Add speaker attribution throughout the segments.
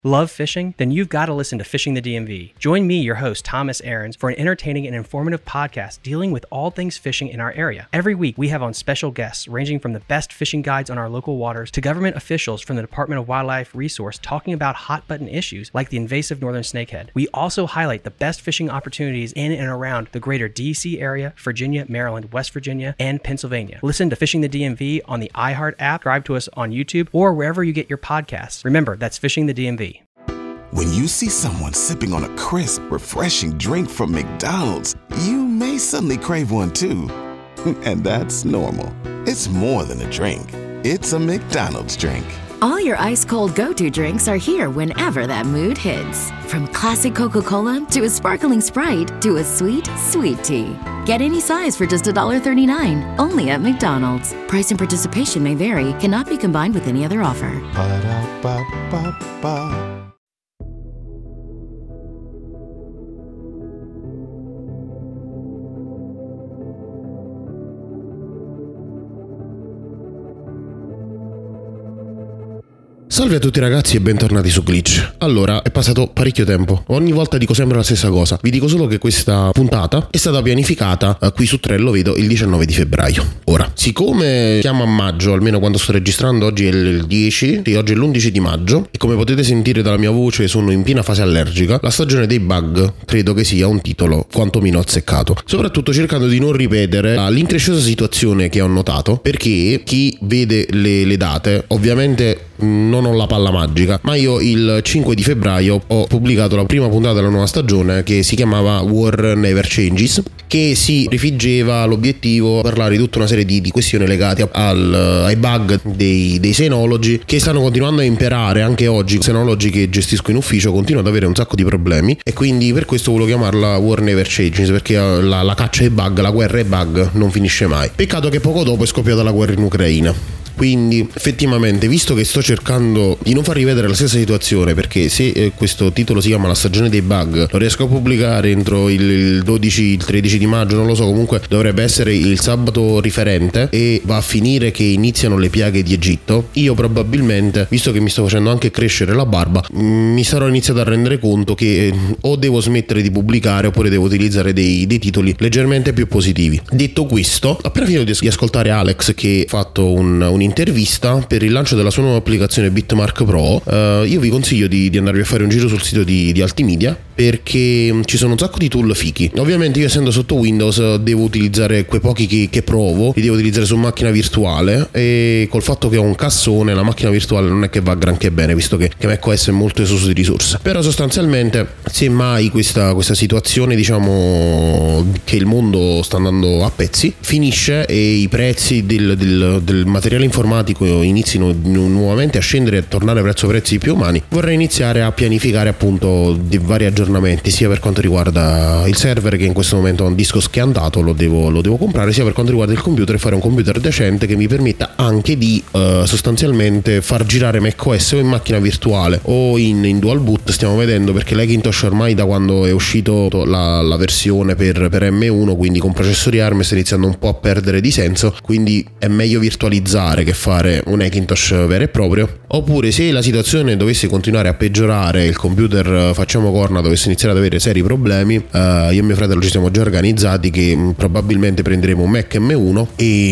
Speaker 1: Love fishing? Then you've got to listen to Fishing the DMV. Join me, your host, Thomas Ahrens, for an entertaining and informative podcast dealing with all things fishing in our area. Every week, we have on special guests ranging from the best fishing guides on our local waters to government officials from the Department of Wildlife Resource talking about hot-button issues like the invasive northern snakehead. We also highlight the best fishing opportunities in and around the greater D.C. area, Virginia, Maryland, West Virginia, and Pennsylvania. Listen to Fishing the DMV on the iHeart app, subscribe to us on YouTube, or wherever you get your podcasts. Remember, that's Fishing the DMV.
Speaker 2: When you see someone sipping on a crisp, refreshing drink from McDonald's, you may suddenly crave one too. And that's normal. It's more than a drink. It's a McDonald's drink.
Speaker 3: All your ice-cold go-to drinks are here whenever that mood hits. From classic Coca-Cola to a sparkling Sprite to a sweet, sweet tea. Get any size for just $1.39, only at McDonald's. Price and participation may vary, cannot be combined with any other offer.
Speaker 2: Ba-da-ba-ba-ba.
Speaker 4: Salve a tutti ragazzi e bentornati su Glitch. Allora, è passato parecchio tempo. Ogni volta dico sempre la stessa cosa. Vi dico solo che questa puntata è stata pianificata qui su Trello, vedo, il 19 di febbraio. Ora, siccome siamo a maggio, almeno quando sto registrando, oggi è il 10, sì, oggi è l'11 di maggio, e come potete sentire dalla mia voce sono in piena fase allergica, la stagione dei bug credo che sia un titolo quantomeno azzeccato. Soprattutto cercando di non ripetere l'incresciosa situazione che ho notato, perché chi vede le date, ovviamente non ho la palla magica, ma io il 5 di febbraio ho pubblicato la prima puntata della nuova stagione che si chiamava War Never Changes, che si rifiggeva l'obiettivo di parlare di tutta una serie di questioni legate ai bug dei senologi che stanno continuando a imperare anche oggi. I senologi che gestisco in ufficio continuano ad avere un sacco di problemi e quindi per questo volevo chiamarla War Never Changes, perché la caccia ai bug, la guerra ai bug non finisce mai. Peccato che poco dopo è scoppiata la guerra in Ucraina. Quindi effettivamente, visto che sto cercando di non far rivedere la stessa situazione, perché se questo titolo si chiama La stagione dei bug, lo riesco a pubblicare entro il 12, il 13 di maggio, non lo so, comunque dovrebbe essere il sabato riferente e va a finire che iniziano le piaghe di Egitto, io probabilmente, visto che mi sto facendo anche crescere la barba, mi sarò iniziato a rendere conto che o devo smettere di pubblicare oppure devo utilizzare dei titoli leggermente più positivi. Detto questo, appena finito di ascoltare Alex che ha fatto un'intervista per il lancio della sua nuova applicazione Bitmark Pro, io vi consiglio di andarvi a fare un giro sul sito di Altimedia, perché ci sono un sacco di tool fichi. Ovviamente io, essendo sotto Windows, devo utilizzare quei pochi che provo, li devo utilizzare su macchina virtuale, e col fatto che ho un cassone la macchina virtuale non è che va granché bene, visto che macOS è molto esoso di risorse. Però sostanzialmente, se mai questa situazione, diciamo, che il mondo sta andando a pezzi finisce e i prezzi del materiale informatico inizino nuovamente a scendere e a tornare verso prezzi più umani, vorrei iniziare a pianificare appunto di vari aggiornamenti, sia per quanto riguarda il server, che in questo momento ha un disco schiantato, lo devo comprare, sia per quanto riguarda il computer, e fare un computer decente che mi permetta anche di sostanzialmente far girare macOS o in macchina virtuale o in dual boot. Stiamo vedendo, perché l'Hackintosh ormai da quando è uscito la versione per M1, quindi con processori ARM, sta iniziando un po' a perdere di senso, quindi è meglio virtualizzare che fare un Hackintosh vero e proprio. Oppure, se la situazione dovesse continuare a peggiorare, il computer facciamo corna dovesse iniziare ad avere seri problemi, io e mio fratello ci siamo già organizzati che probabilmente prenderemo un Mac M1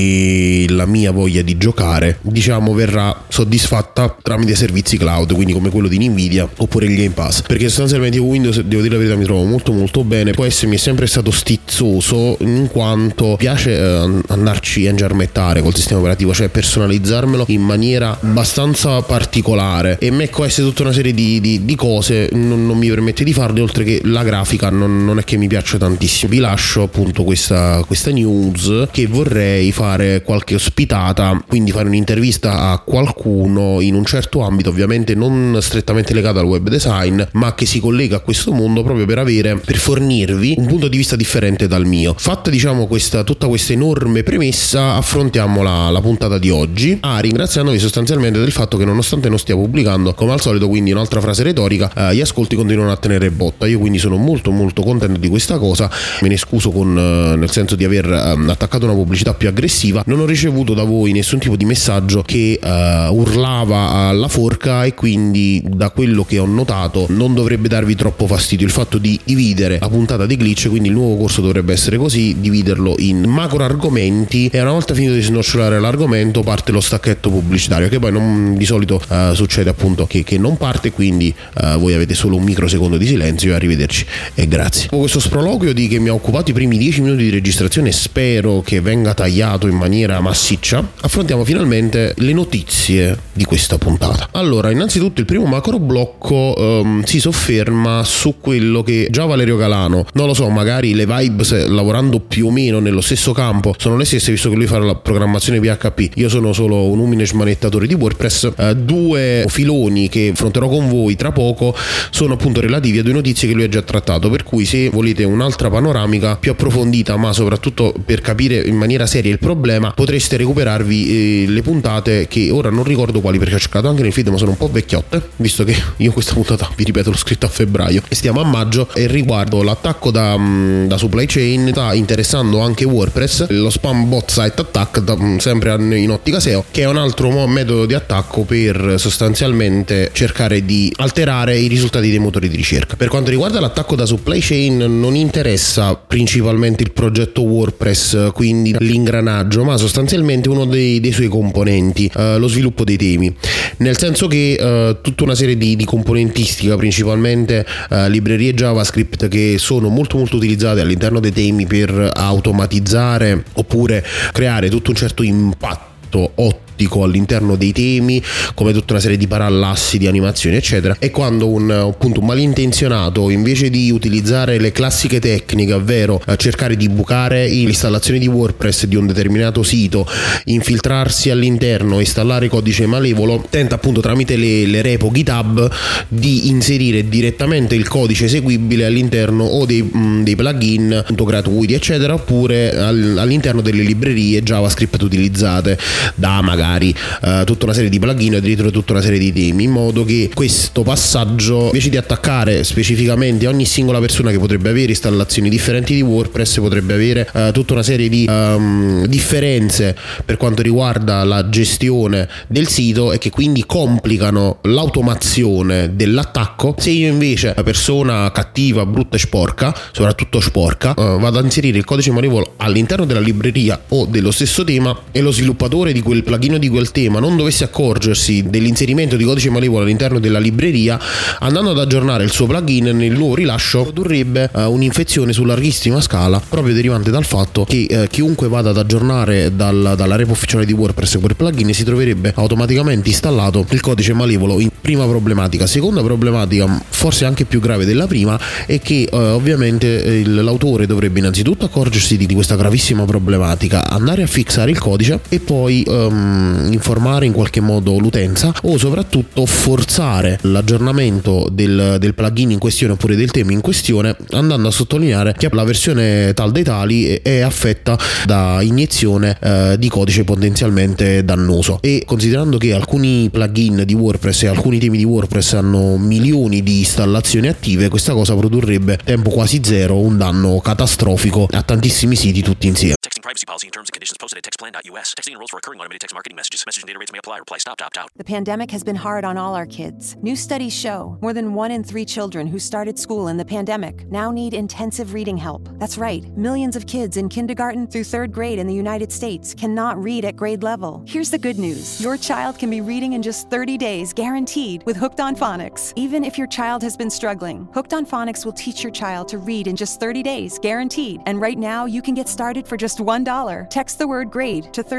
Speaker 4: e la mia voglia di giocare, diciamo, verrà soddisfatta tramite servizi cloud, quindi come quello di Nvidia oppure il Game Pass, perché sostanzialmente Windows, devo dire la verità, mi trovo molto molto bene. Può essere, mi è sempre stato stizzoso in quanto piace andarci a ingiarmettare col sistema operativo, cioè personalizzarmelo in maniera abbastanza particolare, e macOS tutta una serie di cose non mi permette di farle, oltre che la grafica non è che mi piaccia tantissimo. Vi lascio appunto questa news, che vorrei fare qualche ospitata, quindi fare un'intervista a qualcuno in un certo ambito, ovviamente non strettamente legato al web design, ma che si collega a questo mondo, proprio per fornirvi un punto di vista differente dal mio. Fatta, diciamo, tutta questa enorme premessa, affrontiamo la puntata di oggi, ringraziandovi sostanzialmente del fatto che non nonostante non stia pubblicando, come al solito, quindi un'altra frase retorica, gli ascolti continuano a tenere botta. Io quindi sono molto molto contento di questa cosa, me ne scuso nel senso di aver attaccato una pubblicità più aggressiva. Non ho ricevuto da voi nessun tipo di messaggio che urlava alla forca, e quindi da quello che ho notato non dovrebbe darvi troppo fastidio il fatto di dividere la puntata di Glitch, quindi il nuovo corso dovrebbe essere così, dividerlo in macro argomenti, e una volta finito di snocciolare l'argomento parte lo stacchetto pubblicitario, che poi non, di solito succede appunto che non parte, quindi voi avete solo un microsecondo di silenzio, e arrivederci e grazie. Dopo questo sproloquio che mi ha occupato i primi 10 minuti di registrazione, spero che venga tagliato in maniera massiccia, affrontiamo finalmente le notizie di questa puntata. Allora, innanzitutto il primo macro blocco si sofferma su quello che già Valerio Calano, non lo so, magari le vibes lavorando più o meno nello stesso campo sono le stesse, visto che lui fa la programmazione PHP, io sono solo un umile smanettatore di WordPress. Due filoni che affronterò con voi tra poco sono appunto relativi a due notizie che lui ha già trattato, per cui se volete un'altra panoramica più approfondita, ma soprattutto per capire in maniera seria il problema, potreste recuperarvi le puntate che ora non ricordo quali, perché ho cercato anche nel feed ma sono un po' vecchiotte, visto che io questa puntata, vi ripeto, l'ho scritta a febbraio e stiamo a maggio, e riguardo l'attacco da supply chain sta interessando anche WordPress, lo spam bot site attack, sempre in ottica SEO, che è un altro metodo di attacco per sostanzialmente cercare di alterare i risultati dei motori di ricerca. Per quanto riguarda l'attacco da supply chain, non interessa principalmente il progetto WordPress, quindi l'ingranaggio, ma sostanzialmente uno dei suoi componenti, lo sviluppo dei temi, nel senso che tutta una serie di componentistica, principalmente librerie JavaScript, che sono molto molto utilizzate all'interno dei temi per automatizzare oppure creare tutto un certo impatto ottimo all'interno dei temi, come tutta una serie di parallassi, di animazioni eccetera. E quando un malintenzionato, invece di utilizzare le classiche tecniche, ovvero cercare di bucare l'installazione di WordPress di un determinato sito, infiltrarsi all'interno, installare codice malevolo, tenta appunto tramite le repo GitHub di inserire direttamente il codice eseguibile all'interno o dei plugin appunto gratuiti eccetera, oppure all'interno delle librerie JavaScript utilizzate da magari tutta una serie di plugin, addirittura tutta una serie di temi, in modo che questo passaggio, invece di attaccare specificamente ogni singola persona che potrebbe avere installazioni differenti di WordPress, potrebbe avere tutta una serie di differenze per quanto riguarda la gestione del sito, e che quindi complicano l'automazione dell'attacco. Se io invece, la persona cattiva, brutta e sporca, soprattutto sporca, vado a inserire il codice malevolo all'interno della libreria o dello stesso tema, e lo sviluppatore di quel plugin di quel tema non dovesse accorgersi dell'inserimento di codice malevolo all'interno della libreria, andando ad aggiornare il suo plugin nel nuovo rilascio produrrebbe un'infezione su larghissima scala, proprio derivante dal fatto che chiunque vada ad aggiornare dalla repo ufficiale di WordPress quel plugin si troverebbe automaticamente installato il codice malevolo. Prima problematica. Seconda problematica, forse anche più grave della prima, è che ovviamente l'autore dovrebbe innanzitutto accorgersi di questa gravissima problematica, andare a fixare il codice e poi informare in qualche modo l'utenza, o soprattutto forzare l'aggiornamento del plugin in questione oppure del tema in questione, andando a sottolineare che la versione tal dei tali è affetta da iniezione di codice potenzialmente dannoso. E considerando che alcuni plugin di WordPress e alcuni temi di WordPress hanno milioni di installazioni attive, questa cosa produrrebbe tempo quasi zero un danno catastrofico a tantissimi siti tutti insieme.
Speaker 5: Texting privacy policy and terms and conditions posted at textplan.us. Texting enrolls for recurring automated text marketing messages. Message and data rates may apply. Reply stop to opt out.
Speaker 6: The pandemic has been hard on all our kids. New studies show more than 1 in 3 children who started school in the pandemic now need intensive reading help. That's right. Millions of kids in kindergarten through 3rd grade in the United States cannot read at grade level. Here's the good news. Your child can be reading in just 30 days, guaranteed, with Hooked on Phonics. Even if your child has been struggling, Hooked on Phonics will teach your child to read in just 30 days, guaranteed. And right now, you can get started for just $1. Text the word GRADE to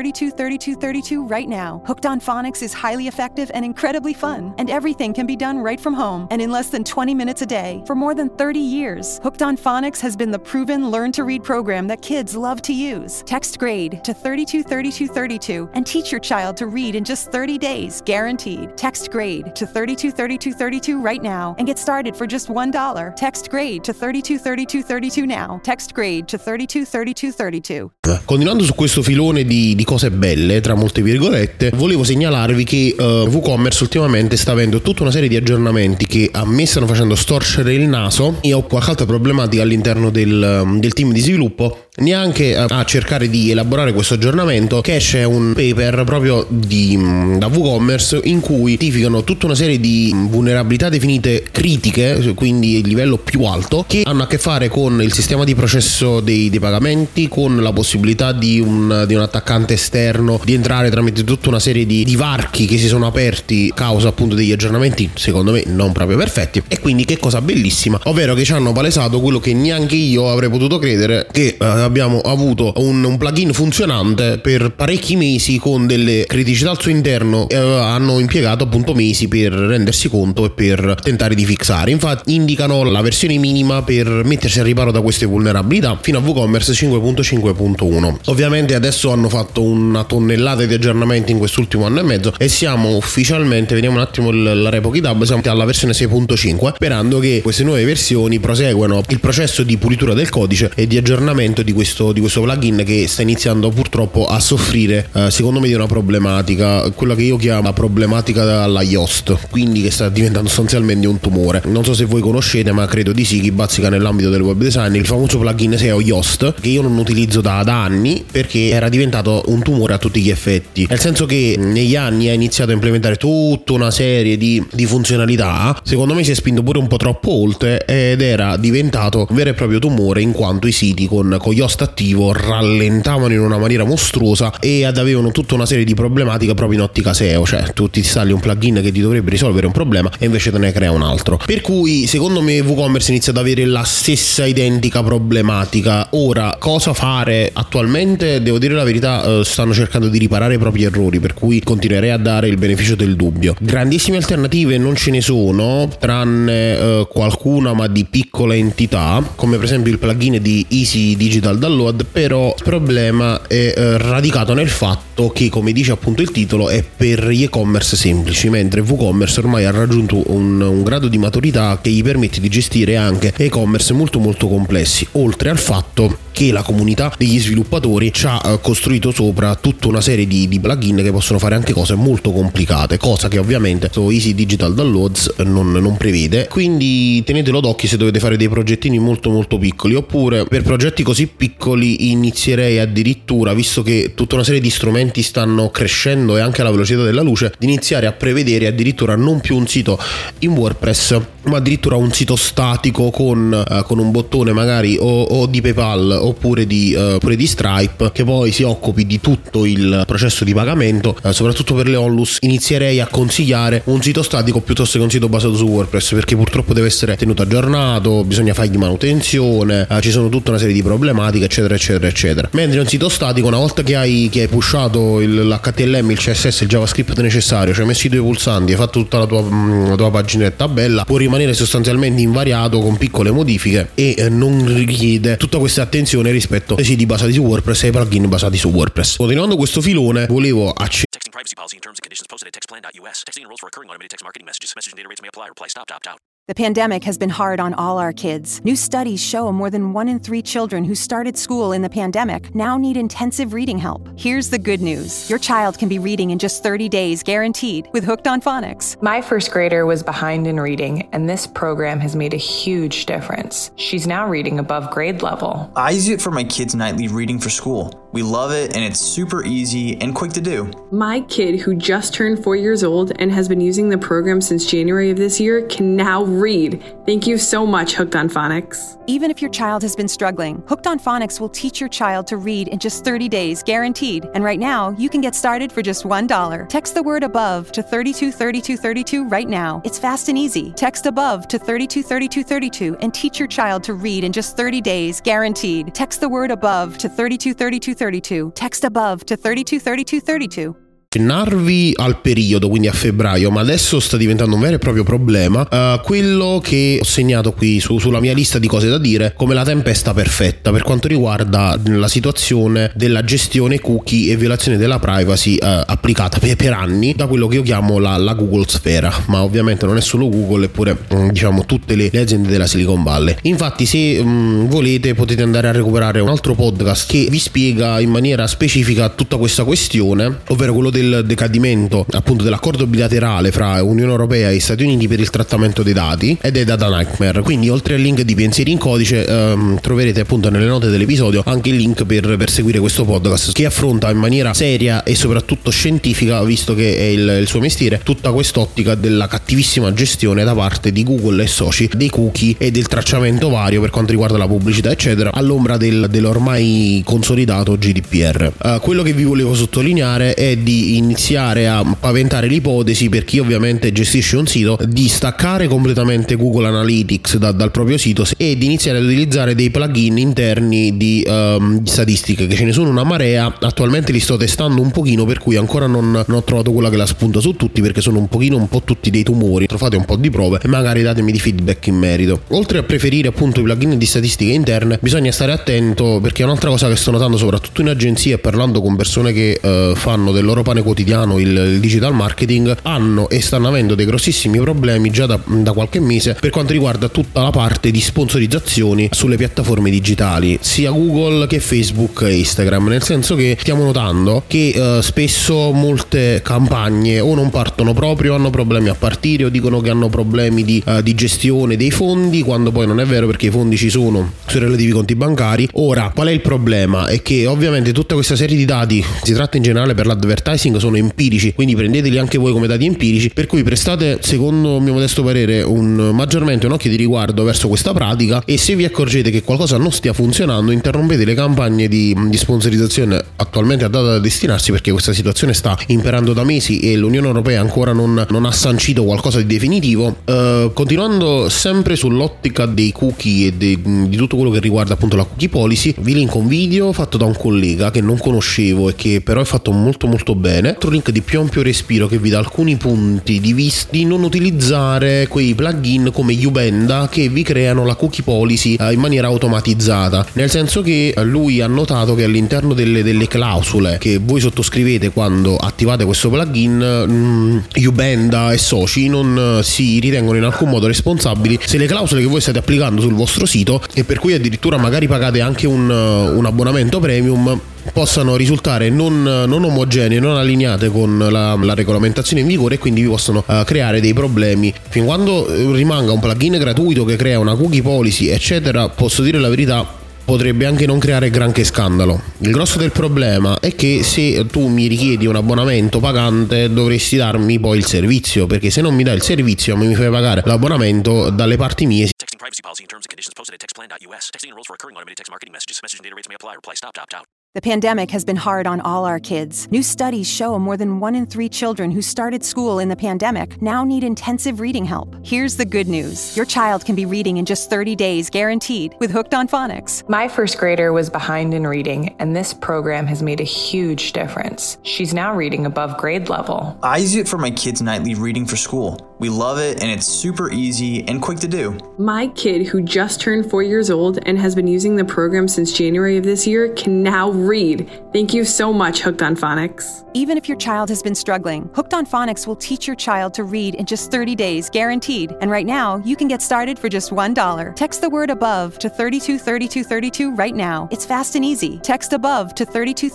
Speaker 6: 323232 right now. Hooked on Phonics is highly effective and incredibly fun, and everything can be done right from home and in less than 20 minutes a day. For more than 30 years, Hooked on Phonics has been the proven learn-to-read program that kids love to use. Text GRADE to 323232 and teach your child to read in just 30 days, guaranteed. Text GRADE to 323232 right now and get started for just $1. Text GRADE to 323232 now. Text GRADE to 323232.
Speaker 4: Continuando su questo filone di cose belle, tra molte virgolette, volevo segnalarvi che WooCommerce ultimamente sta avendo tutta una serie di aggiornamenti che a me stanno facendo storcere il naso. Io ho qualche altra problematica all'interno del team di sviluppo, neanche a cercare di elaborare questo aggiornamento, che esce un paper proprio da WooCommerce in cui identificano tutta una serie di vulnerabilità definite critiche, quindi il livello più alto, che hanno a che fare con il sistema di processo dei pagamenti, con la possibilità di un attaccante esterno di entrare tramite tutta una serie di varchi che si sono aperti a causa appunto degli aggiornamenti secondo me non proprio perfetti. E quindi che cosa bellissima, ovvero che ci hanno palesato quello che neanche io avrei potuto credere, che abbiamo avuto un plugin funzionante per parecchi mesi con delle criticità al suo interno, hanno impiegato appunto mesi per rendersi conto e per tentare di fixare. Infatti indicano la versione minima per mettersi al riparo da queste vulnerabilità fino a WooCommerce 5.5.1. ovviamente adesso hanno fatto una tonnellata di aggiornamenti in quest'ultimo anno e mezzo e siamo ufficialmente, vediamo un attimo la Repo GitHub, siamo alla versione 6.5, sperando che queste nuove versioni proseguano il processo di pulitura del codice e di aggiornamento di questo plugin che sta iniziando purtroppo a soffrire secondo me di una problematica, quella che io chiamo la problematica alla Yoast, quindi che sta diventando sostanzialmente un tumore. Non so se voi conoscete, ma credo di sì, chi bazzica nell'ambito del web design, il famoso plugin SEO Yoast, che io non utilizzo da anni perché era diventato un tumore a tutti gli effetti, nel senso che negli anni ha iniziato a implementare tutta una serie di funzionalità, secondo me si è spinto pure un po' troppo oltre ed era diventato un vero e proprio tumore, in quanto i siti con Yoast attivo rallentavano in una maniera mostruosa e avevano tutta una serie di problematiche proprio in ottica SEO, cioè tu ti installi un plugin che ti dovrebbe risolvere un problema e invece te ne crea un altro, per cui secondo me WooCommerce inizia ad avere la stessa identica problematica. Ora, cosa fare attualmente? Devo dire la verità, stanno cercando di riparare i propri errori, per cui continuerei a dare il beneficio del dubbio. Grandissime alternative non ce ne sono, tranne qualcuna ma di piccola entità, come per esempio il plugin di Easy Digital Download, però il problema è radicato nel fatto che, come dice appunto il titolo, è per gli e-commerce semplici, mentre WooCommerce ormai ha raggiunto un grado di maturità che gli permette di gestire anche e-commerce molto molto complessi, oltre al fatto che la comunità degli sviluppatori ci ha costruito sopra tutta una serie di plugin che possono fare anche cose molto complicate, cosa che ovviamente su Easy Digital Downloads non prevede, quindi tenetelo d'occhio se dovete fare dei progettini molto molto piccoli, oppure per progetti così piccoli inizierei addirittura, visto che tutta una serie di strumenti stanno crescendo e anche alla velocità della luce, di iniziare a prevedere addirittura non più un sito in WordPress ma addirittura un sito statico con un bottone magari o di PayPal oppure di Stripe, che poi si occupi di tutto il processo di pagamento. Soprattutto per le onlus inizierei a consigliare un sito statico piuttosto che un sito basato su WordPress, perché purtroppo deve essere tenuto aggiornato, bisogna fargli manutenzione, ci sono tutta una serie di problematiche eccetera eccetera eccetera, mentre un sito statico, una volta che hai pushato l'HTML, il CSS, il JavaScript necessario, cioè messo i due pulsanti, hai fatto tutta la tua paginetta bella, può rimanere sostanzialmente invariato con piccole modifiche e non richiede tutta questa attenzione rispetto ai siti basati su WordPress e ai plugin basati su WordPress. Continuando questo filone, volevo
Speaker 5: Texting privacy policy and terms and conditions posted at textplan.us. Texting enrolls for recurring automated text marketing messages. Message and data rates may apply. Reply stop to opt out.
Speaker 6: The pandemic has been hard on all our kids. New studies show more than 1 in 3 children who started school in the pandemic now need intensive reading help. Here's the good news. Your child can be reading in just 30 days, guaranteed, with Hooked on Phonics.
Speaker 7: My first grader was behind in reading, and this program has made a huge difference. She's now reading above grade level.
Speaker 8: I use it for my kids' nightly reading for school. We love it, and it's super easy and quick to do.
Speaker 9: My kid, who just turned 4 years old and has been using the program since January of this year, can now read. Thank you so much, Hooked on Phonics.
Speaker 6: Even if your child has been struggling, Hooked on Phonics will teach your child to read in just 30 days, guaranteed. And right now, you can get started for just $1. Text the word ABOVE to 323232 right now. It's fast and easy. Text ABOVE to 323232 and teach your child to read in just 30 days, guaranteed. Text the word ABOVE to 323232. Text ABOVE to 323232.
Speaker 4: accennarvi al periodo, quindi a febbraio, ma adesso sta diventando un vero e proprio problema, quello che ho segnato qui sulla mia lista di cose da dire come la tempesta perfetta per quanto riguarda la situazione della gestione cookie e violazione della privacy applicata per anni da quello che io chiamo la Google sfera, ma ovviamente non è solo Google, eppure diciamo tutte le aziende della Silicon Valley. Infatti se volete potete andare a recuperare un altro podcast che vi spiega in maniera specifica tutta questa questione, ovvero quello del decadimento appunto dell'accordo bilaterale fra Unione Europea e Stati Uniti per il trattamento dei dati ed è Data Nightmare. Quindi oltre al link di Pensieri in Codice troverete appunto nelle note dell'episodio anche il link per seguire questo podcast che affronta in maniera seria e soprattutto scientifica, visto che è il suo mestiere, tutta quest'ottica della cattivissima gestione da parte di Google e soci dei cookie e del tracciamento vario per quanto riguarda la pubblicità eccetera, all'ombra dell'ormai consolidato GDPR. Quello che vi volevo sottolineare è di iniziare a paventare l'ipotesi, per chi ovviamente gestisce un sito, di staccare completamente Google Analytics dal proprio sito e di iniziare ad utilizzare dei plugin interni di statistiche, che ce ne sono una marea. Attualmente li sto testando un pochino, per cui ancora non ho trovato quella che la spunta su tutti, perché sono un po' tutti dei tumori. Fate un po' di prove e magari datemi di feedback in merito. Oltre a preferire appunto i plugin di statistiche interne, bisogna stare attento, perché è un'altra cosa che sto notando soprattutto in agenzie, parlando con persone che fanno del loro pane quotidiano il digital marketing, hanno e stanno avendo dei grossissimi problemi già da qualche mese per quanto riguarda tutta la parte di sponsorizzazioni sulle piattaforme digitali, sia Google che Facebook e Instagram, nel senso che stiamo notando che spesso molte campagne o non partono proprio, hanno problemi a partire, o dicono che hanno problemi di gestione dei fondi, quando poi non è vero, perché i fondi ci sono sui relativi conti bancari. Ora, qual è il problema? È che ovviamente tutta questa serie di dati, si tratta in generale per l'advertising, sono empirici, quindi prendeteli anche voi come dati empirici, per cui prestate, secondo il mio modesto parere, maggiormente un occhio di riguardo verso questa pratica, e se vi accorgete che qualcosa non stia funzionando, interrompete le campagne di sponsorizzazione attualmente date da destinarsi, perché questa situazione sta imperando da mesi e l'Unione Europea ancora non ha sancito qualcosa di definitivo. Continuando sempre sull'ottica dei cookie e di tutto quello che riguarda appunto la cookie policy, vi linko un video fatto da un collega che non conoscevo e che però è fatto molto molto bene, altro link di più ampio respiro che vi dà alcuni punti di vista di non utilizzare quei plugin come Ubenda che vi creano la cookie policy in maniera automatizzata, nel senso che lui ha notato che all'interno delle clausole che voi sottoscrivete quando attivate questo plugin, Ubenda e soci non si ritengono in alcun modo responsabili se le clausole che voi state applicando sul vostro sito, e per cui addirittura magari pagate anche un abbonamento premium, possano risultare non omogenee, non allineate con la regolamentazione in vigore, e quindi vi possono creare dei problemi. Fin quando rimanga un plugin gratuito che crea una cookie policy eccetera, posso dire la verità, potrebbe anche non creare granché scandalo. Il grosso del problema è che se tu mi richiedi un abbonamento pagante dovresti darmi poi il servizio, perché se non mi dai il servizio mi fai pagare l'abbonamento dalle parti mie.
Speaker 5: Texting privacy policy and terms and conditions posted at textplan.us. Texting enrolls for recurring automated text marketing messages. Message and data rates may apply. Reply stop to opt out.
Speaker 6: The pandemic has been hard on all our kids. New studies show more than 1 in 3 children who started school in the pandemic now need intensive reading help. Here's the good news. Your child can be reading in just 30 days, guaranteed, with Hooked on Phonics.
Speaker 7: My first grader was behind in reading, and this program has made a huge difference. She's now reading above grade level.
Speaker 8: I use it for my kids' nightly reading for school. We love it, and it's super easy and quick to do.
Speaker 9: My kid, who just turned 4 years old and has been using the program since January of this year, can now read. Thank you so much, Hooked on Phonics.
Speaker 6: Even if your child has been struggling, Hooked on Phonics will teach your child to read in just 30 days, guaranteed. And right now, you can get started for just $1. Text the word ABOVE to 323232 right now. It's fast and easy. Text ABOVE to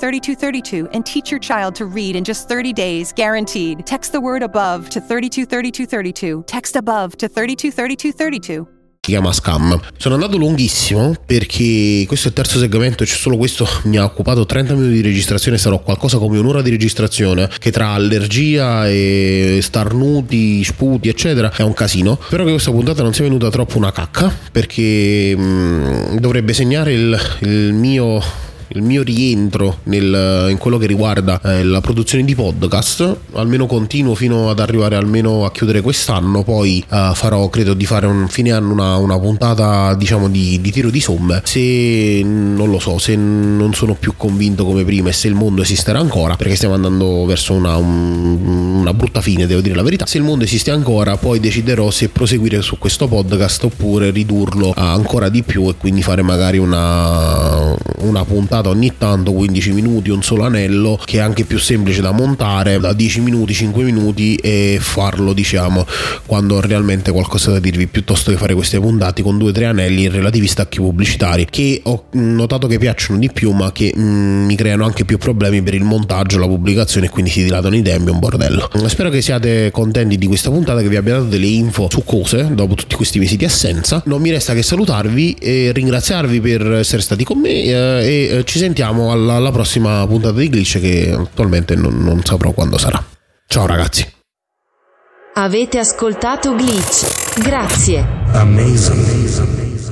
Speaker 6: 323232 and teach your child to read in just 30 days, guaranteed. Text the word ABOVE to 323232. Text ABOVE to 323232.
Speaker 4: Si chiama Scam. Sono andato lunghissimo perché questo è il terzo segmento e solo questo mi ha occupato 30 minuti di registrazione. Sarò qualcosa come un'ora di registrazione, che tra allergia e starnuti, sputi eccetera è un casino. Spero che questa puntata non sia venuta troppo una cacca, perché dovrebbe segnare il mio il mio rientro in quello che riguarda la produzione di podcast. Almeno continuo fino ad arrivare almeno a chiudere quest'anno, poi credo di fare un fine anno una puntata, diciamo, di tiro di somme, se non lo so, se non sono più convinto come prima e se il mondo esisterà ancora, perché stiamo andando verso una brutta fine, devo dire la verità. Se il mondo esiste ancora, poi deciderò se proseguire su questo podcast oppure ridurlo ancora di più e quindi fare magari una puntata ogni tanto, 15 minuti, un solo anello, che è anche più semplice da montare, da 10 minuti, 5 minuti, e farlo, diciamo, quando ho realmente qualcosa da dirvi, piuttosto che fare queste puntate con 2-3 anelli in relativi stacchi pubblicitari, che ho notato che piacciono di più ma che mi creano anche più problemi per il montaggio, la pubblicazione, e quindi si dilatano i tempi, è un bordello. Spero che siate contenti di questa puntata, che vi abbia dato delle info su cose dopo tutti questi mesi di assenza. Non mi resta che salutarvi e ringraziarvi per essere stati con me, e ci sentiamo alla prossima puntata di Glitch, che attualmente non saprò quando sarà. Ciao ragazzi.
Speaker 3: Avete ascoltato Glitch. Grazie.
Speaker 2: Amazing.